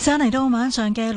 上嚟到晚上嘅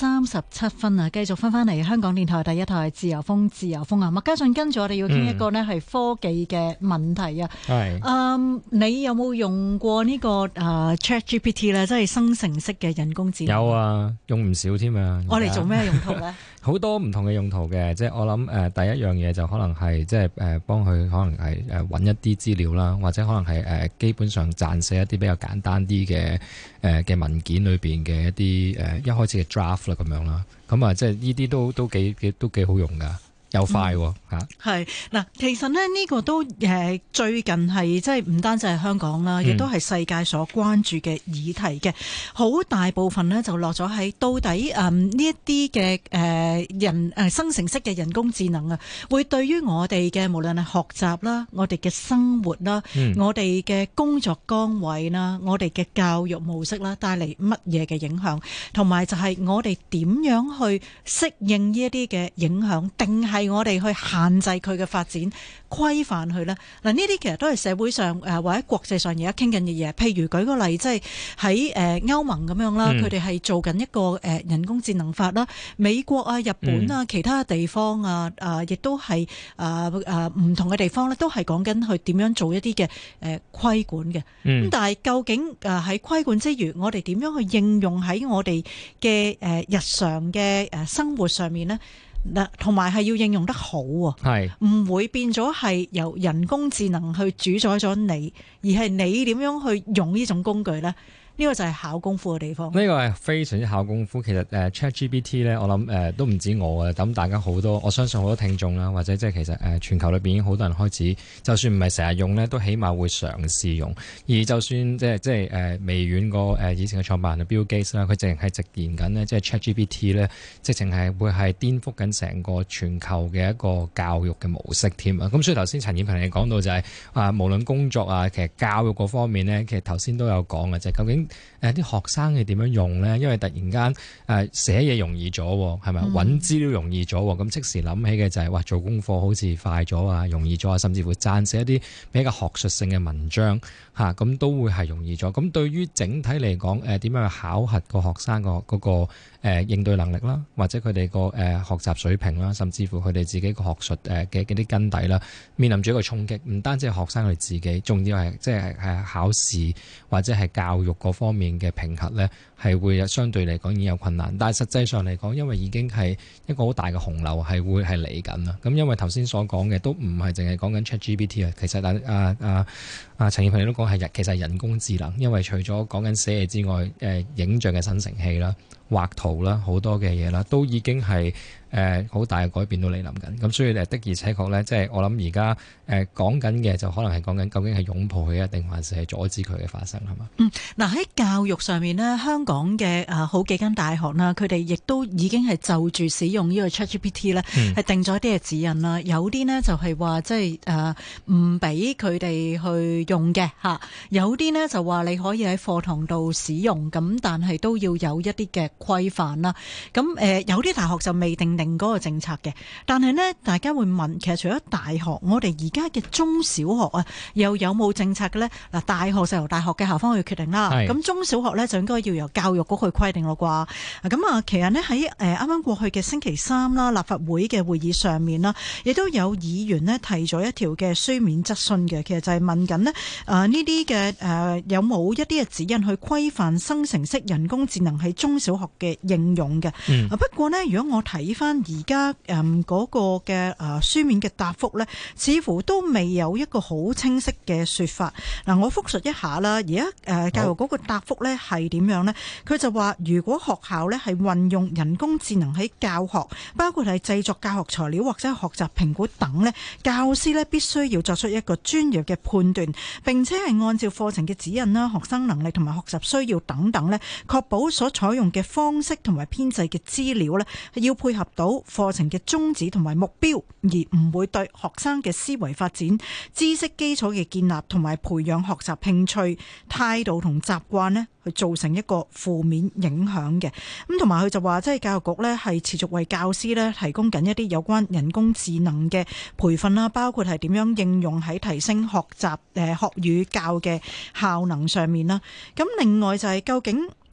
6:37啊，繼續翻嚟香港電台第一台自由風，自由風啊！麥家俊跟住我哋要傾一個呢係科技嘅問題啊。係，你有冇用過呢個ChatGPT 咧？即係生成式嘅人工智能。 有啊，用唔少添啊。 我哋做咩用途咧？ 好多唔同嘅用途嘅，即係我諗第一樣嘢就可能係即係幫佢可能係揾一啲資料啦，或者可能係基本上撰寫一啲比較簡單啲嘅文件裏邊嘅一啲一開始嘅 draft 啦咁樣啦，咁啊即係呢啲都幾好用噶。又快喎嚇， 係嗱，其實咧呢個都最近係即係唔單止係香港啦，亦都係世界所關注嘅議題嘅。好大部分呢就落咗喺到底呢一啲嘅人生成式嘅人工智能啊，會對於我哋嘅無論係學習啦、我哋嘅生活啦、我哋嘅工作崗位啦、我哋嘅教育模式啦，帶嚟乜嘢嘅影響，同埋就係我哋點樣去適應呢一啲嘅影響，定係我哋去限制佢嘅發展，規範佢呢？嗱，呢啲其實都係社會上或者國際上而家傾緊嘅嘢。譬如舉個例，即係喺歐盟咁樣啦，佢哋係做緊一個人工智能法啦。美國啊、日本啊、其他地方啊，亦都係唔同嘅地方咧，都係講緊去點樣做一啲嘅規管嘅。咁但係究竟喺規管之餘，我哋點樣去應用喺我哋嘅日常嘅生活上面呢？嗱，同埋係要應用得好喎，係唔會變咗係由人工智能去主宰咗你，而係你點樣去用呢種工具呢？呢個就係考功夫嘅地方。呢個係非常之考功夫。其實ChatGPT 咧，我諗都唔止我啊，咁大家好多，我相信好多聽眾啦，或者即係其實全球裏邊已經好多人開始，就算唔係成日用咧，都起碼會嘗試用。而就算即係微軟個以前嘅創辦人 Bill Gates 啦，佢淨係直言緊呢，即係 ChatGPT 咧，直情係會係顛覆緊成個全球嘅一個教育嘅模式添啊！咁所以頭先陳燕萍你講到就係無論工作啊，其實教育嗰方面咧，其實頭先都有講嘅，就係究竟啲學生係點樣用咧？因為突然間寫嘢容易咗，係咪揾資料容易咗？咁即時諗起嘅就係話做功課好似快咗啊，容易咗啊，甚至乎撰寫一啲比較學術性嘅文章嚇，咁都會係容易咗。咁對於整體嚟講，點樣去考核個學生個嗰個應對能力啦，或者佢哋個學習水平啦，甚至乎佢哋自己個學術嘅啲根底啦，面臨住一個衝擊。唔單止係學生佢自己，仲要係即係考試或者係教育嗰方面嘅評核咧，係會相對嚟講已經有困難。但係實際上嚟講，因為已經係一個好大嘅洪流係會係嚟緊啦。咁因為頭先所講嘅都唔係淨係講緊 ChatGPT 啊，其實陳燕萍你都講係其實係人工智能，因為除咗講緊寫嘢之外，影像嘅生成器啦、畫圖啦，好多嘅嘢啦，都已經係好大嘅改變到嚟臨緊。咁所以的而且確咧，即係我諗而家講緊嘅就可能係講緊究竟係擁抱佢啊，定還是係阻止佢嘅發生係嘛？ 嗱喺教育上面呢，香港嘅好幾間大學啦，佢哋亦都已經係就住使用呢個 ChatGPT 咧，係定咗一啲嘅指引啦。有啲呢就係話即係唔俾佢哋去用嘅嚇，有啲呢就話你可以喺課堂度使用，咁但係都要有一啲嘅規範啦。咁有啲大學就未定嗰個政策嘅，但係呢，大家會問，其實除咗大學，我哋而家嘅中小學啊，又有冇政策嘅呢？嗱，大學就由大學嘅校方去決定啦。咁中小學呢，就應該要由教育局去規定咯啩。咁啊，其實呢，喺啱啱過去嘅星期三啦，立法會嘅會議上面啦，亦都有議員呢提咗一條嘅書面質詢嘅，其實就係問緊呢呢啲嘅有冇一啲嘅指引去規範生成式人工智能喺中小學嘅應用嘅。不過呢，如果我睇翻而家嗰個嘅書面嘅答覆呢，似乎都未有一個好清晰嘅說法。嗱，我複述一下啦。而家教育局個答覆呢係點樣呢？佢就話，如果學校呢係運用人工智能喺教學，包括係製作教學材料或者學習評估等呢，教師呢必須要作出一個專業嘅判斷，並且係按照課程嘅指引啦、學生能力同埋學習需要等等呢，確保所採用嘅方式同埋編製嘅資料呢係要配合到課程嘅宗旨同埋目標，而唔會對學生嘅思維發展、知識基礎嘅建立同埋培養學習興趣、態度同習慣呢去造成一個負面影響嘅。咁同埋佢就話，即係教育局呢係持續為教師呢提供緊一啲有關人工智能嘅培訓啦，包括係點樣應用喺提升學習學與教嘅效能上面啦。咁另外就係究竟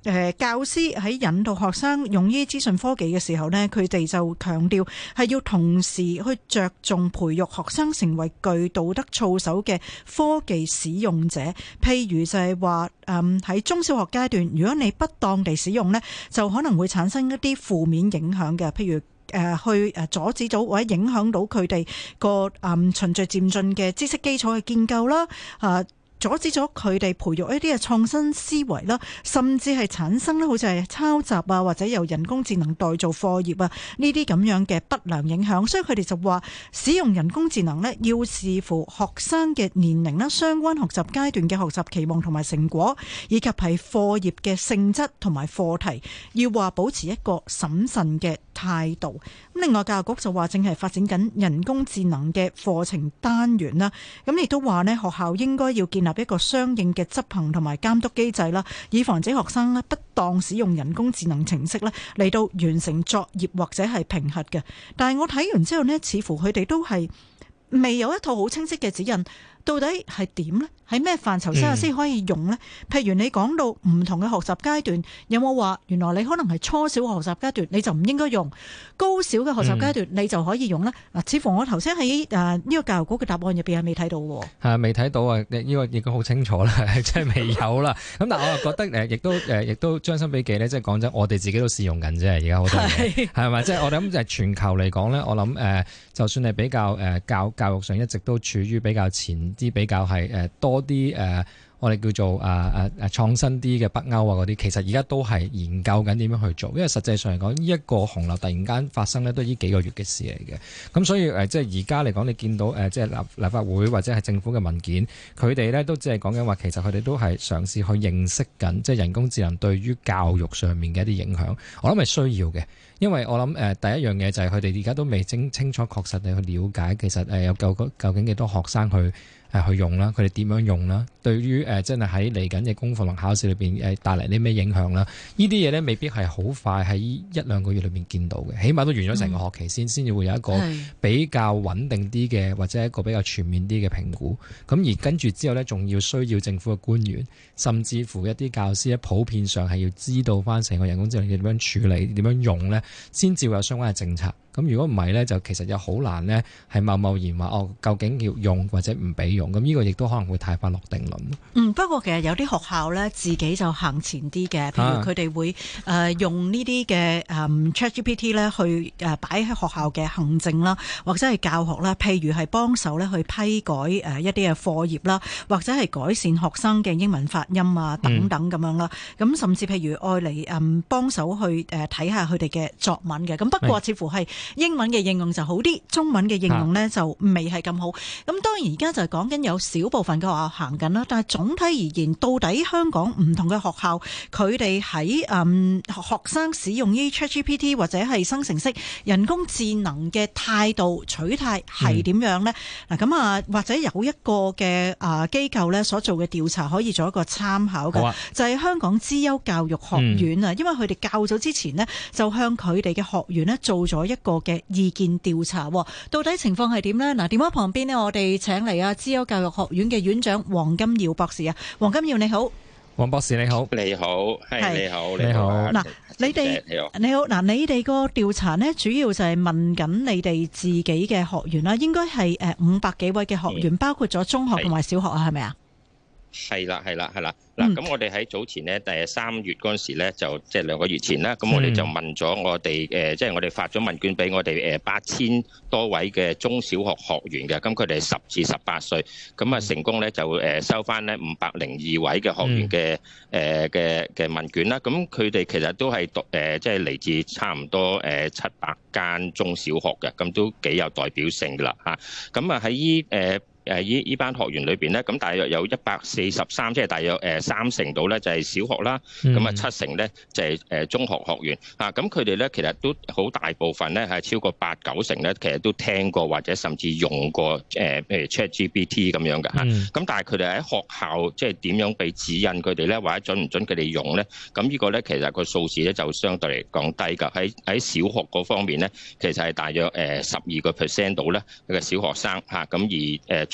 教師喺引導學生用呢啲資訊科技嘅時候呢，佢哋就強調係要同時去着重培育學生成為具道德操守嘅科技使用者。譬如就係話喺中小學階段，如果你不當地使用呢，就可能會產生一啲負面影響嘅，譬如去阻止到或者影響到佢哋個循序漸進嘅知識基礎嘅建構啦，阻止咗佢哋培育一啲嘅創新思維啦，甚至係產生咧好似係抄襲啊，或者由人工智能代做課業啊呢啲咁樣嘅不良影響。所以佢哋就話使用人工智能呢，要視乎學生嘅年齡啦、相關學習階段嘅學習期望同埋成果，以及係課業嘅性質同埋課題，要話保持一個審慎嘅態度。咁另外教育局就話正係發展緊人工智能嘅課程單元啦，咁亦都話呢，學校應該要建立一個相應嘅執行同埋監督機制啦，以防止學生呢不當使用人工智能程式呢嚟到完成作業或者係評核嘅。但係我睇完之後呢，似乎佢哋都係未有一套好清晰嘅指引，到底係點呢？喺咩範疇之下先可以用呢？譬如你講到唔同嘅學習階段，有冇話原來你可能係初小嘅學習階段你就唔應該用，高小嘅學習階段你就可以用呢？嗱，似乎我頭先喺呢個教育局嘅答案入邊係未睇到喎。係未睇到啊！呢個已經好清楚啦，即係未有啦。咁但係我又覺得亦都將心比己呢，即係講真，我哋自己都試用緊啫。而家好多嘢係咪？即係我諗就係全球嚟講呢，我諗就算係比較教育上一直都處於比較前啲，比較係多啲我哋叫做創新啲嘅北歐啊嗰啲，其實而家都係研究緊點樣去做，因為實際上嚟講，呢一個洪流突然間發生呢，都係呢幾個月嘅事嚟嘅。咁所以即係而家嚟講，你見到即係立法會或者係政府嘅文件，佢哋呢都只係講緊話，其實佢哋都係嘗試去認識緊，即係人工智能對於教育上面嘅一啲影響。我諗係需要嘅，因為我諗第一樣嘢就係佢哋而家都未清楚確實地去了解，其實有究竟幾多學生去用啦，佢哋點樣用啦？對於真係喺嚟緊嘅功課同考試裏邊帶嚟啲咩影響啦？呢啲嘢咧未必係好快喺一兩個月裏邊見到嘅，起碼都完咗成個學期先至會有一個比較穩定啲嘅或者一個比較全面啲嘅評估。咁而跟住之後咧，仲要需要政府嘅官員，甚至乎一啲教師咧，普遍上係要知道翻成個人工智能點樣處理、點樣用咧，先至會有相關嘅政策。咁如果唔係咧，就其實又好難呢，係貿然話究竟要用或者唔俾用，咁呢個亦都可能會太快落定論。 不過其實有啲學校呢，自己就行前啲嘅，譬如佢哋會用呢啲嘅ChatGPT 呢去擺喺學校嘅行政啦，或者係教學啦，譬如係幫手呢去批改一啲嘅課業啦，或者係改善學生嘅英文發音啊等等咁樣啦。咁甚至譬如愛嚟幫手去睇下佢哋嘅作文嘅。咁不過似乎係英文嘅應用就好啲，中文嘅應用呢就未係咁好。咁當然而家就係講緊有少部分嘅學校行緊啦，但係總體而言，到底香港唔同嘅學校佢哋喺學生使用呢 ChatGPT 或者係生成式人工智能嘅態度取態係點樣呢？嗱咁或者有一個嘅機構呢所做嘅調查可以做一個參考嘅，就係香港資優教育學院啊，因為佢哋較早之前呢就向佢哋嘅學員呢做咗一個嘅意見調查，到底情況係點呢？嗱，電話旁邊呢，我哋請嚟資優教育學院嘅院長黃金耀博士啊，黃金耀你好。 黃博士你好。 你好，係你好， 你好。 嗱，你好，嗱，你哋個調查呢，主要就係問緊你哋自己嘅學員啦，應該係500幾位嘅學員，包括咗中學同埋小學啊，係咪啊？ 係啦。嗱，咁我哋喺早前咧，3月嗰陣時咧，就即係2個月前啦，咁我哋就問咗我哋即係我哋發咗問卷俾我哋8000多位嘅中小學學員嘅，咁佢哋10至18歲，咁啊成功咧就收翻咧502位嘅學員嘅問卷啦，咁佢哋其實都係即係嚟自差唔多700間中小學嘅，咁都幾有代表性噶啦嚇，咁啊喺依班學員裏邊咧，咁大約有143，即係大約3成度咧就係小學啦，咁啊7成咧就係中學學員啊，咁佢哋咧其實都好大部分咧係超過8-9成咧，其實都聽過或者甚至用過譬如 ChatGPT 咁樣嘅嚇，咁但係佢哋喺學校即係點樣俾指引佢哋咧，或者準唔準佢哋用咧？咁呢個咧其實個數字咧就相對嚟講低㗎，喺小學嗰方面咧，其實係大約12% 度咧嘅小學生嚇，咁而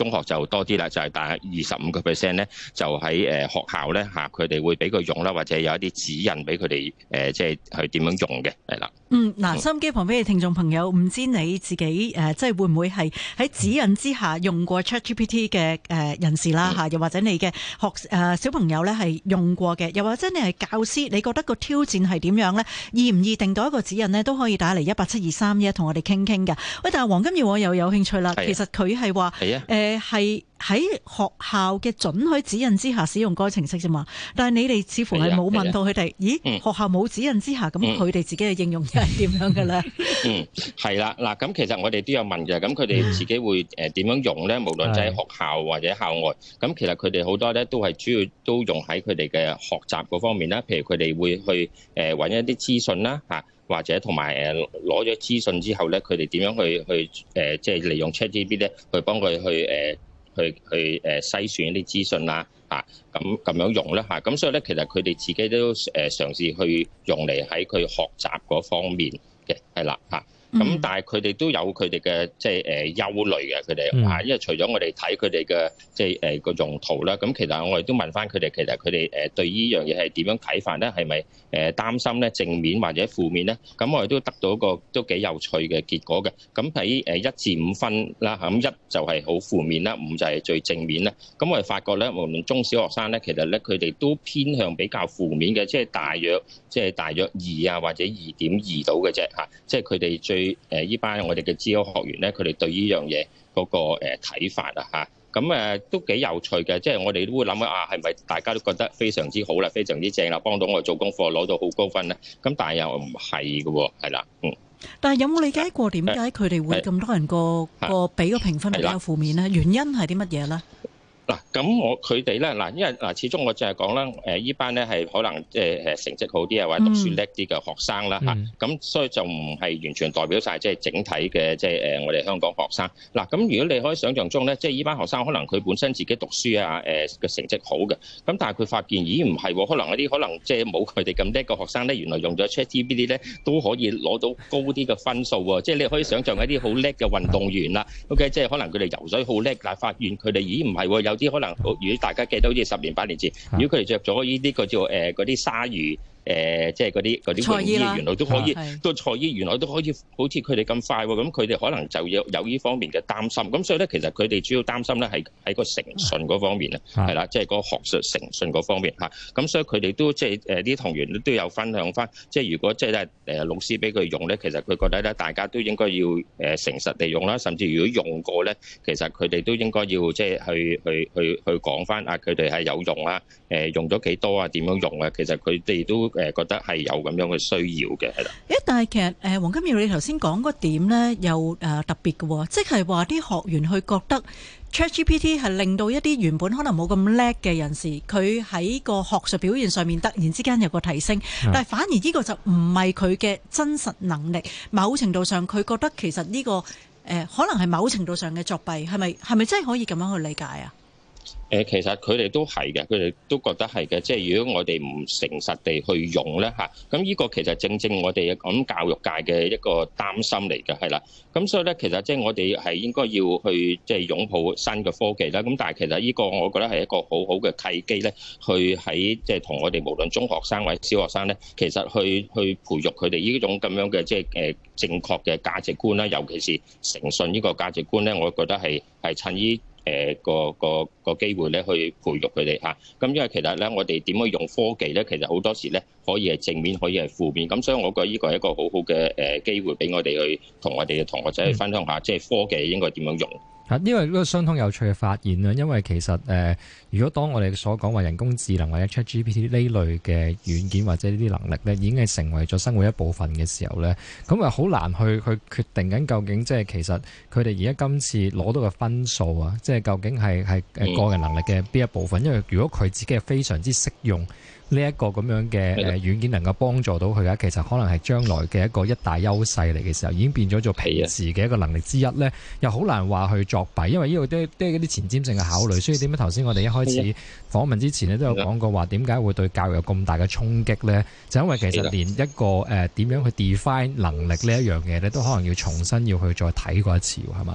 中學就多啲啦，就係大概25%咧，就喺學校咧嚇，佢哋會俾佢用啦，或者有一啲指引俾佢哋即係去點樣用嘅，係啦。 嗱，收音機旁邊嘅聽眾朋友，唔知你自己即係會唔會係喺指引之下用過 ChatGPT 嘅人士啦嚇，又或者你嘅小朋友咧係用過嘅，又或者你係教師，你覺得個挑戰係點樣咧？易唔易定到一個指引呢？都可以打嚟18723同我哋傾傾㗎。喂，但係黃金耀我又有興趣啦，其實佢係話係喺學校嘅准許指引之下使用該程式啫嘛，但係你哋似乎係冇問到佢哋，咦？學校冇指引之下，咁佢哋自己嘅應用又係點樣嘅咧？ 係啦，嗱，咁其實我哋都有問嘅，咁佢哋自己會點樣用咧？無論就喺學校或者校外，咁其實佢哋好多咧都係主要都用喺佢哋嘅學習嗰方面啦，譬如佢哋會去揾一啲資訊啦嚇。或者同埋攞咗資訊之後咧，佢哋點樣去即係利用 ChatGPT 咧，去幫佢去篩選一啲資訊啦嚇，咁樣用啦嚇，咁所以咧其實佢哋自己都嘗試去用嚟喺佢學習嗰方面嘅，係啦嚇。咁但係佢哋都有佢哋嘅即係憂慮嘅，佢哋嚇，因為除咗我哋睇佢哋嘅即係個用途啦，咁其實我哋都問翻佢哋，其實佢哋對呢樣嘢係點樣睇法咧？係咪擔心咧正面或者負面咧？咁我哋都得到一個都幾有趣嘅結果嘅。咁喺1至5分啦，咁1就係好負面啦，5就係最正面啦。咁我哋發覺咧，無論中小學生咧，其實咧佢哋都偏向比較負面嘅，即係大約2啊或者2.2到嘅啫嚇，即係佢哋最呢班我哋嘅資優學員咧，佢哋對呢樣嘢嗰個睇法啊嚇，咁都幾有趣嘅，即係我哋都會諗係咪大家都覺得非常之好啦，非常之正啦，幫到我做功課攞到好高分咧？咁但係又唔係嘅喎，係啦， 但係有冇理解過點解佢哋會咁多人個俾個評分比較負面咧？原因係啲乜嘢咧？ 嗱，咁佢哋咧，因為始終我就係講啦，依班咧係可能即係成績好啲啊，或者讀書叻啲嘅學生啦嚇，咁所以就唔係完全代表晒即係整體嘅即係我哋香港學生。嗱，咁如果你可以想象中咧，即係依班學生可能佢本身自己讀書啊嘅成績好嘅，咁但係佢發現咦唔係喎，可能一啲可能即係冇佢哋咁叻嘅學生咧，原來用咗 ChatGPT 咧都可以攞到高啲嘅分數喎。即係你可以想象一啲好叻嘅運動員啦，OK， 即係可能佢哋游水好叻，但係發現佢哋咦唔係喎，有啲可能，如果大家記得好似10年8年前，如果佢哋着咗呢啲個叫嗰啲鯊魚即係嗰啲泳衣，原來都可以，都賽衣原來都可以好似佢哋咁快喎，咁佢哋可能就有呢方面嘅擔心。咁所以咧，其實佢哋主要擔心咧係喺個誠信嗰方面啊，係啦，即係個學術誠信嗰方面嚇。咁所以佢哋都即係啲同學都有分享翻，即係如果即係老師俾佢用咧，其實佢覺得咧大家都應該要誠實地用啦，甚至如果用過咧，其實佢哋都應該要即係去講翻佢哋係有用啊，用咗幾多啊，點樣用啊？其實佢哋都覺得係有咁樣嘅需要嘅，係啦。 但係其實黃金耀你頭先講嗰點咧，又特別嘅喎，即係話啲學員去覺得 ChatGPT 係令到一啲原本可能冇咁叻嘅人士，佢喺個學術表現上面突然之間有個提升，但係反而呢個就唔係佢嘅真實能力。某程度上，佢覺得其實呢個可能係某程度上嘅作弊，係咪真係可以咁樣去理解啊？ 其實佢哋都係嘅，佢哋都覺得係嘅。即係如果我哋唔誠實地去用咧嚇，咁呢個其實正正我哋咁教育界嘅一個擔心嚟嘅，係啦。咁所以咧，其實即係我哋係應該要去即係擁抱新嘅科技啦。咁但係其實呢個我覺得係一個好好嘅契機咧，去喺即係同我哋無論中學生或者小學生咧，其實去培育佢哋呢種咁樣嘅即係正確嘅價值觀啦，尤其是誠信呢個價值觀咧，我覺得係趁呢個機會咧去培育佢哋嚇，咁因為其實咧我哋點樣用科技咧，其實好多時咧可以係正面，可以係負面，咁所以我覺得呢個係一個好好嘅機會俾我哋去同我哋嘅同學仔去分享下，即係科技應該點樣用。 因為呢個相當有趣嘅發現啦，因為其實如果當我哋所講話人工智能或者 ChatGPT 呢類嘅軟件或者呢啲能力咧，已經係成為咗生活一部分嘅時候咧，咁啊好難去決定緊究竟即係其實佢哋而家今次攞到嘅分數啊，即係究竟係個人能力嘅邊一部分？因為如果佢自己係非常之識用呢一個咁樣嘅軟件能夠幫助到佢啊，其實可能係將來嘅一大優勢嚟嘅時候，已經變咗做平時嘅一個能力之一咧，又好難話去作弊，因為呢個都係一啲前瞻性嘅考慮。所以點解頭先我哋一開始訪問之前咧都有講過話，點解會對教育有咁大嘅衝擊咧？就因為其實連一個點樣去 define 能力呢一樣嘢咧，都可能要重新要去再睇過一次，係嘛？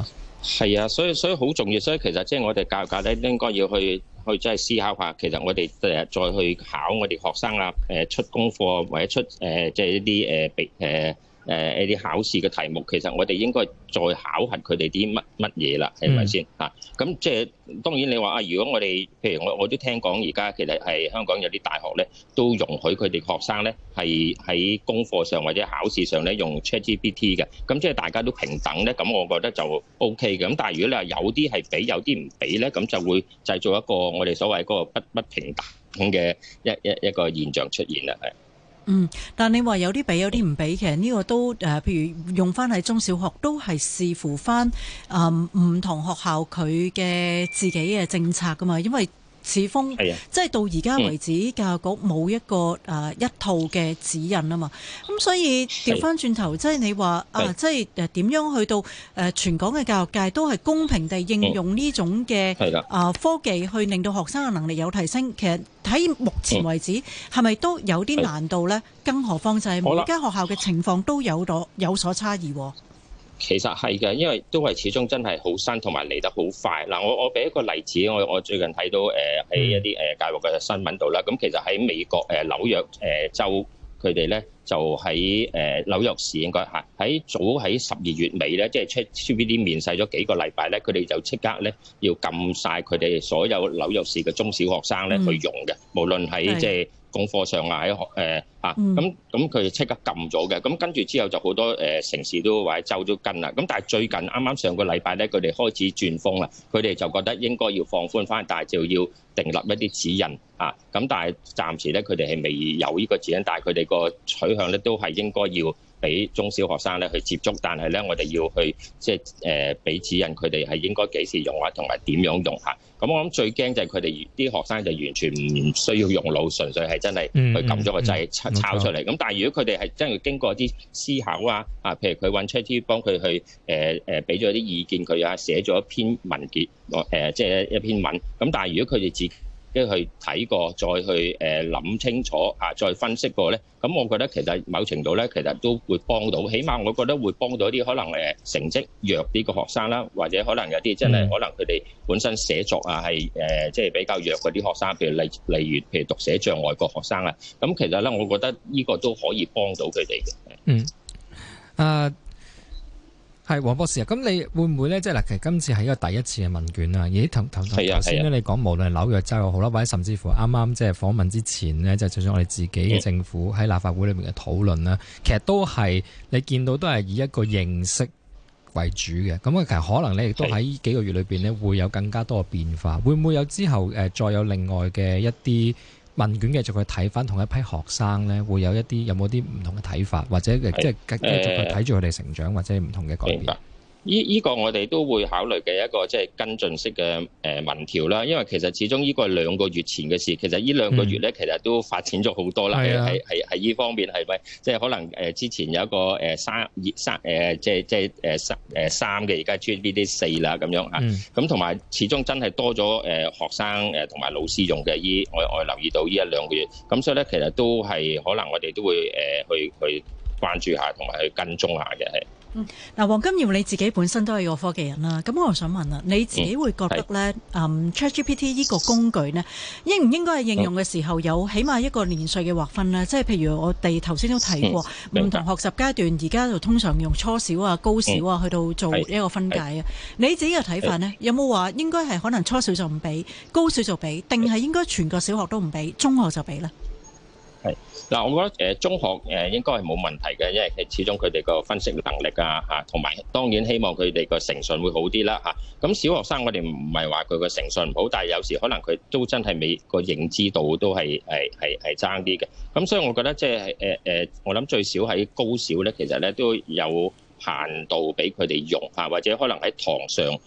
係啊，所以好重要。所以其實即係我哋教育界咧，應該要去即係思考下，其實我哋再去考我哋學生啊，出功課或者出即係一啲一啲考試嘅題目，其實我哋應該再考核佢哋啲乜嘢啦，係咪先嚇？咁即係當然你話啊，如果我哋譬如我都聽講而家其實係香港有啲大學咧，都容許佢哋學生咧係喺功課上或者考試上咧用 ChatGPT 嘅，咁即係大家都平等咧，咁我覺得就 OK 嘅。咁但係如果你話有啲係俾，有啲唔俾咧，咁就會製造一個我哋所謂嗰個不平等嘅一個現象出現啦，係。 但你話有啲俾有啲唔俾，其實呢個都譬如用翻喺中小學都係視乎翻唔同學校佢嘅自己嘅政策噶嘛，因為始終即係到而家為止，教育局冇一個一套嘅指引啊嘛，咁所以調翻轉頭，即係你話即係點樣去到全港嘅教育界都係公平地應用呢種嘅科技去令到學生嘅能力有提升，其實喺目前為止係咪都有啲難度呢？更何況就係每間學校嘅情況都有所差異。 其實係嘅，因為都係始終真係好新，同埋嚟得好快。嗱，我俾一個例子，我最近睇到喺一啲教育嘅新聞度啦。咁其實喺美國紐約州，佢哋咧就喺紐約市應該係喺12月尾咧，即係 ChatGPT 面世咗幾個禮拜咧，佢哋就即刻咧要禁晒佢哋所有紐約市嘅中小學生咧去用嘅，無論喺即係功課上啊，喺咁佢哋即刻禁咗嘅。咁跟住之後就好多城市都或者州都跟啦。咁但係最近啱啱上個禮拜咧，佢哋開始轉風啦。佢哋就覺得應該要放寬翻，但係就要訂立一啲指引啊。咁但係暫時咧，佢哋係未有呢個指引，但係佢哋個取向咧都係應該要俾中小學生咧去接觸，但係咧我哋要去即係俾指引佢哋係應該幾時用啊，同埋點樣用嚇。咁我諗最驚就係佢哋啲學生就完全唔需要用腦，純粹係真係去撳咗個掣抄出嚟。咁但係如果佢哋係真係經過啲思考啊，譬如佢揾 ChatGPT 幫佢去俾咗啲意見佢啊，寫咗一篇文結即係一篇文。咁但係如果佢哋自己去睇過，再去諗清楚再分析過咧，咁我覺得其實某程度咧，其實都會幫到，起碼我覺得會幫到一啲可能成績弱啲嘅學生啦，或者可能有啲真係可能佢哋本身寫作係即係比較弱嗰啲學生，譬如例如讀寫障礙個學生啦，咁其實咧，我覺得呢個都可以幫到佢哋嘅。 係黃博士啊，咁你會唔會咧？即係嗱，其實今次係一個第一次嘅問卷啊。咦，頭先咧，你講無論紐約州又好啦，或者甚至乎啱啱即係訪問之前呢，就算我哋自己嘅政府喺立法會裏面嘅討論啦，其實都係你見到都係以一個認識為主嘅。咁其實可能你亦都喺幾個月裏邊呢，會有更加多嘅變化。會唔會有之後再有另外嘅一啲問卷繼續去睇翻同一批學生咧，會有冇啲唔同嘅睇法，或者即係繼續去睇住佢哋成長，或者唔同嘅改變？ 呢個我哋都會考慮嘅一個即係跟進式嘅民調啦，因為其實始終呢個係2個月前嘅事，其實呢2個月咧其實都發展咗好多啦，係呢方面係咪即係可能之前有一個3嘅，而家 GPT 4啦咁樣嚇，咁同埋始終真係多咗學生同埋老師用嘅，我留意到呢1-2個月，咁所以咧其實都係可能我哋都會去關注下同埋去跟蹤下嘅係。 嗱，黃金耀你自己本身都係個科技人啦，咁我想問啦，你自己會覺得咧，ChatGPT 呢個工具呢，應唔應該係應用嘅時候有起碼一個年歲嘅劃分呢？即係譬如我哋頭先都提過，唔同學習階段而家就通常用初小啊、高小啊去到做一個分界啊。你自己嘅睇法呢，有冇話應該係可能初小就唔俾，高小就俾，定係應該全個小學都唔俾，中學就俾呢？ 嗱，我覺得中學應該係冇問題嘅，因為始終佢哋個分析能力同埋當然希望佢哋個誠信會好啲啦。咁小學生我哋唔係話佢個誠信唔好，但係有時可能佢都真係未個認知度都係爭啲嘅。咁所以我覺得即係我諗最少喺高小咧，其實咧都有限度俾佢哋用或者可能喺堂上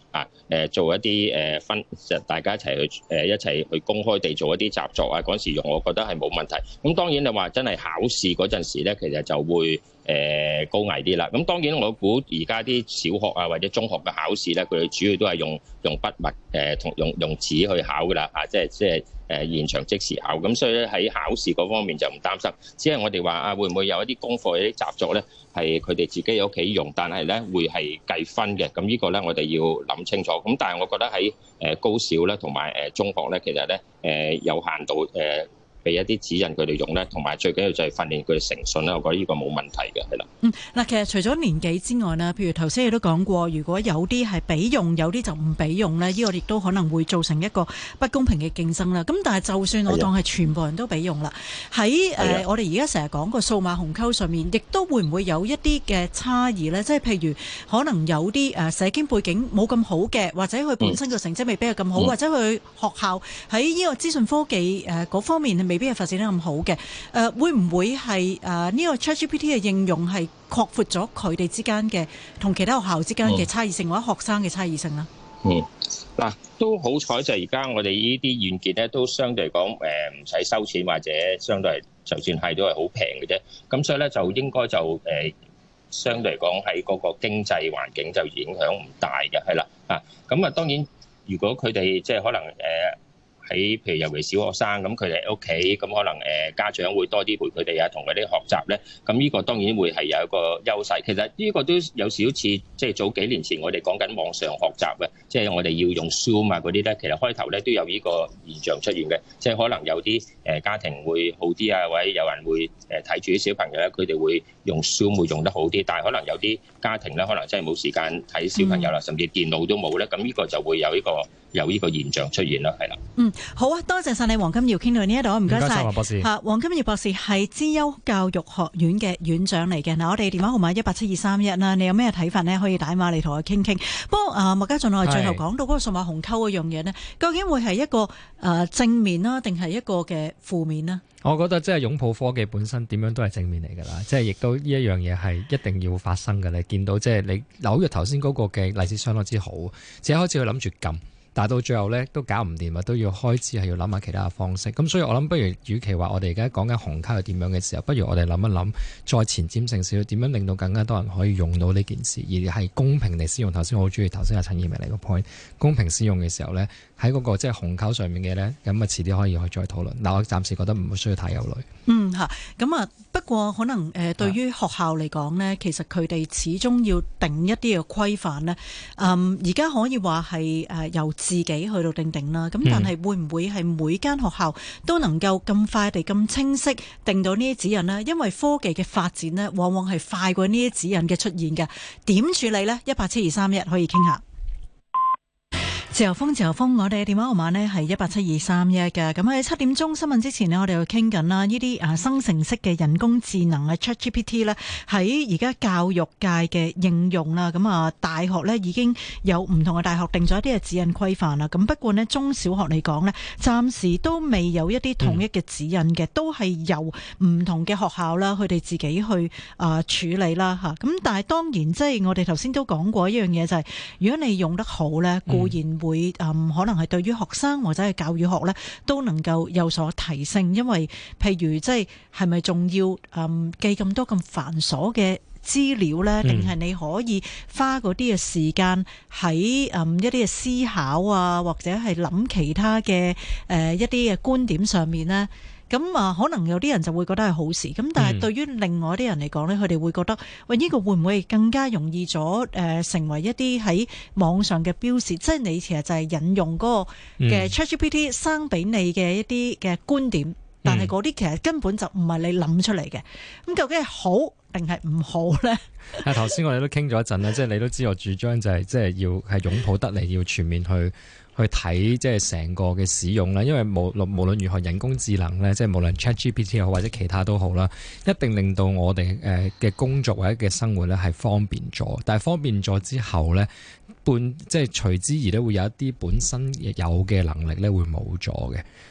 做一啲大家一齊去公開地做一啲習作啊，嗰時用我覺得係冇問題。咁當然你話真係考試嗰陣時咧，其實就會高危啲啦。咁當然我估而家啲小學啊或者中學嘅考試咧，佢哋主要都係用筆墨同用紙去考噶啦，即係現場即時考。咁所以咧喺考試嗰方面就唔擔心。只係我哋話會唔會有一啲功課、一啲習作咧，係佢哋自己喺屋企用，但係咧會係計分嘅。咁呢個咧我哋要諗清楚。咁但係我覺得喺高小咧同埋中學咧，其實咧有限度俾一啲指引佢哋用咧，同埋最緊要就係訓練佢哋誠信咧。我覺得呢個冇問題嘅，係啦。 嗱，其實除咗年紀之外呢，譬如頭先你都講過，如果有啲係俾用，有啲就唔俾用呢，呢個亦都可能會造成一個不公平嘅競爭啦。咁但係就算我當係全部人都俾用啦，喺我哋而家成日講個數碼鴻溝上面，亦都會唔會有一啲嘅差異呢？即係譬如可能有啲社經背景冇咁好嘅，或者佢本身個成績未必係咁好，或者佢學校喺呢個資訊科技嗰方面未必係發展得咁好嘅，會唔會係呢個 ChatGPT 嘅應用係擴闊咗佢哋之間嘅同其他學校之間嘅差異性，或者學生嘅差異性啦？ 嗱，都好彩就係而家我哋呢啲軟件咧，都相對嚟講唔使收錢，或者相對就算係都係好平嘅啫。咁所以咧就應該就相對嚟講喺嗰個經濟環境就影響唔大嘅，係啦咁啊當然如果佢哋即係可能喺譬如尤其小學生咁，佢哋喺屋企咁可能家長會多啲陪佢哋啊，同佢哋學習咧。咁呢個當然會係有一個優勢。其實呢個都有少少似即係早幾年前我哋講緊網上學習嘅，即係我哋要用 Zoom 啊嗰啲咧。其實開頭咧都有呢個現象出現嘅，即係可能有啲家庭會好啲啊，或者有人會睇住啲小朋友咧，佢哋會用 Zoom 會用得好啲。但係可能有啲家庭咧，可能真係冇時間睇小朋友啦，甚至電腦都冇咧。咁呢個就會有呢個現象出現啦，係啦。 好啊，多謝晒你黃金耀，傾到呢一度，唔該晒。 黃博士。 黃金耀博士係資優教育學院嘅院長嚟嘅。嗱，我哋電話號碼187-231啦，你有咩睇法呢？可以打電話嚟同我傾傾。不過麥家俊，我哋最後講到嗰個數碼鴻溝嗰樣嘢呢，究竟會係一個正面啦，定係一個嘅負面呢？ 我覺得即係擁抱科技本身點樣都係正面嚟㗎啦，即係亦都呢一樣嘢係一定要發生嘅。你見到即係你紐約頭先嗰個嘅例子相當之好，自己開始去諗住撳。但到最後咧都搞唔掂啊，都要開始係要諗下其他嘅方式。咁所以我諗，不如與其話我哋而家講緊鴻溝係點樣嘅時候，不如我哋諗一諗，再前瞻性少少，點樣令到更加多人可以用到呢件事，而係公平地使用。頭先我好中意頭先阿陳燕明嚟個 point， 公平使用嘅時候咧，喺嗰個即係鴻溝上面嘅咧，咁啊遲啲可以去再討論。但我暫時覺得唔需要太憂慮。 咁不過可能對於學校嚟講呢，其實佢哋始終要定一啲嘅規範呢。而家可以話係由自己去到定啦。咁但係會唔會係每間學校都能夠咁快地咁清晰定到呢啲指引呢？因為科技嘅發展呢，往往係快過呢啲指引嘅出現嘅。點處理呢？187-231可以傾下。自由風，我哋嘅電話號碼呢係187-231嘅。咁喺7點鐘新聞之前呢，我哋又傾緊啦，呢啲生成式嘅人工智能嘅 ChatGPT 呢，喺而家教育界嘅應用啦。咁大學呢已經有唔同嘅大學定咗一啲嘅指引規範啦。咁不過呢，中小學嚟講呢，暫時都未有一啲統一嘅指引嘅，都係由唔同嘅學校啦，佢哋自己去處理啦嚇。咁但係當然即係我哋頭先都講過一樣嘢，就係如果你用得好呢，固然會可能係對於學生或者係教育學呢都能夠有所提升，因為譬如即係咪仲要記咁多咁繁瑣嘅資料呢？定係你可以花嗰啲嘅時間喺一啲嘅思考啊，或者係諗其他嘅一啲嘅觀點上面呢？咁可能有啲人就會覺得係好事，咁但係對於另外啲人嚟講呢，佢哋會覺得喂，呢個會唔會更加容易咗成為一啲喺網上嘅標示？即係你其實就係引用嗰個嘅 ChatGPT 生俾你嘅一啲嘅觀點，但係嗰啲其實根本就唔係你諗出嚟嘅。咁究竟係好定係唔好呢？ 頭先我哋都傾咗一陣啦，即係你都知我主張就係即係要係擁抱得嚟，要全面去睇即係成個嘅使用啦，因為無論如何人工智能咧，即係無論 ChatGPT 又好或者其他都好啦，一定令到我哋嘅工作或者嘅生活咧係方便咗。但係方便咗之後咧，即係隨之而咧會有一啲本身有嘅能力咧會冇咗嘅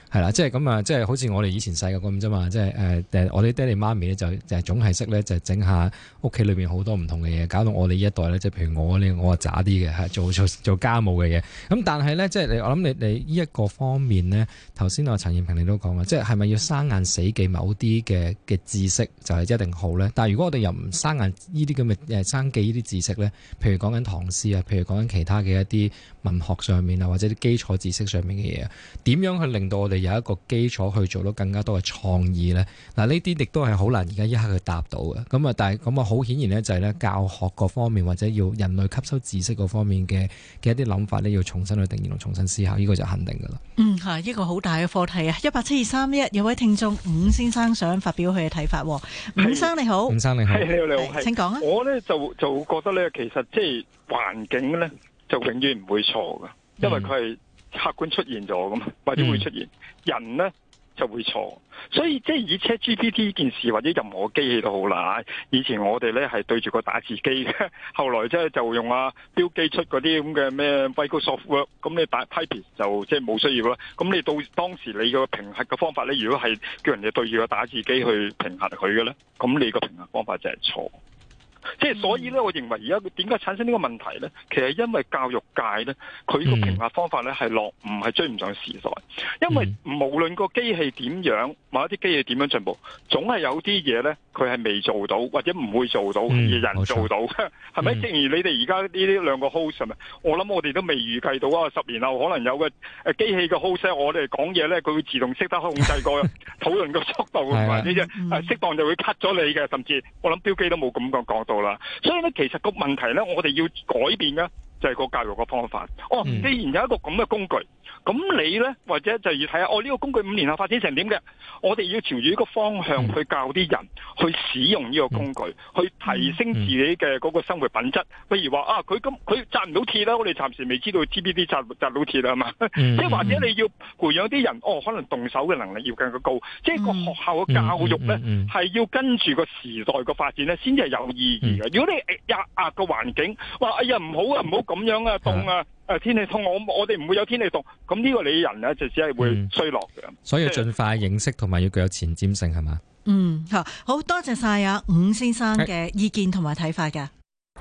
係啦，即係咁啊，即係好似我哋以前細個咁啫嘛，即係我哋爹哋媽咪咧就總係識咧就整下屋企裏邊好多唔同嘅嘢，搞到我哋呢一代咧，即係譬如我渣啲嘅，係做家務嘅嘢。咁但係咧，即係我諗你呢一個方面咧，頭先陳燕平你都講啦，即係咪要生硬死記某啲嘅知識就係一定好咧？但係如果我哋又唔生硬呢啲咁嘅生記呢啲知識咧，譬如講緊唐詩啊，譬如講緊其他嘅一啲文學上面啊，或者啲基礎知識上面嘅嘢，點樣去令到我哋有一個基礎去做到更加多嘅創意咧？嗱，呢啲亦都係好難而家一刻去答到嘅。咁啊，但係咁啊，好顯然咧就係咧教學各方面或者要人類吸收知識嗰方面嘅一啲諗法咧，要重新去定義同重新思考，呢個就肯定噶啦。 係一個好大嘅課題啊！17231有位聽眾伍先生想發表佢嘅睇法。伍生你好， 伍生你好， 你好， 請講啊！ 我咧就覺得咧，其實即係環境咧就永遠唔會錯噶，因為佢係客觀出現咗噶嘛，或者會出現人咧就會錯，所以即係以 ChatGPT 呢件事或者任何機器都好啦。以前我哋咧係對住個打字機嘅，後來即係就用標記出嗰啲咁嘅咩 Microsoft Word， 咁你打 Type 就即係冇需要啦。咁你到當時你個評核嘅方法咧，如果係叫人哋對住個打字機去評核佢嘅咧，咁你個評核方法就係錯。即係所以咧，我認為而家點解產生呢個問題咧？其實因為教育界咧，佢個評核方法咧係唔係追唔上時代。因為無論個機器點樣，某一啲機器點樣進步，總係有啲嘢咧，佢係未做到或者唔會做到，而人做到，係咪？正如你哋而家呢啲兩個 host 係咪？我諗我哋都未預計到啊！10年後可能有個機器嘅 host， 我哋講嘢咧，佢會自動識得控制個討論個速度，或者適當就會 cut 咗你嘅，甚至我諗標記都冇咁講到啦。所以咧，其實個問題咧，我哋要改變嘅就係個教育個方法。既然有一個咁嘅工具，咁你咧或者就要睇下，呢個工具5年後發展成點嘅？我哋要朝住呢個方向去教啲人去使用呢個工具，去提升自己嘅嗰個生活品質。譬如話佢紮唔到鐵啦，我哋暫時未知道 GPT 紮到鐵啦，係嘛？即係或者你要培養啲人，可能動手嘅能力要更加高。即係個學校嘅教育咧，係要跟住個時代個發展咧，先至係有意義嘅。如果你壓個環境，話哎呀唔好啊，唔好咁樣啊，凍啊！天氣凍，我哋唔會有天氣凍，咁呢個你人咧就只係會衰落嘅。 所以要盡快認識同埋要具有前瞻性係嘛？ 好多謝晒伍先生嘅意見同埋睇法㗎。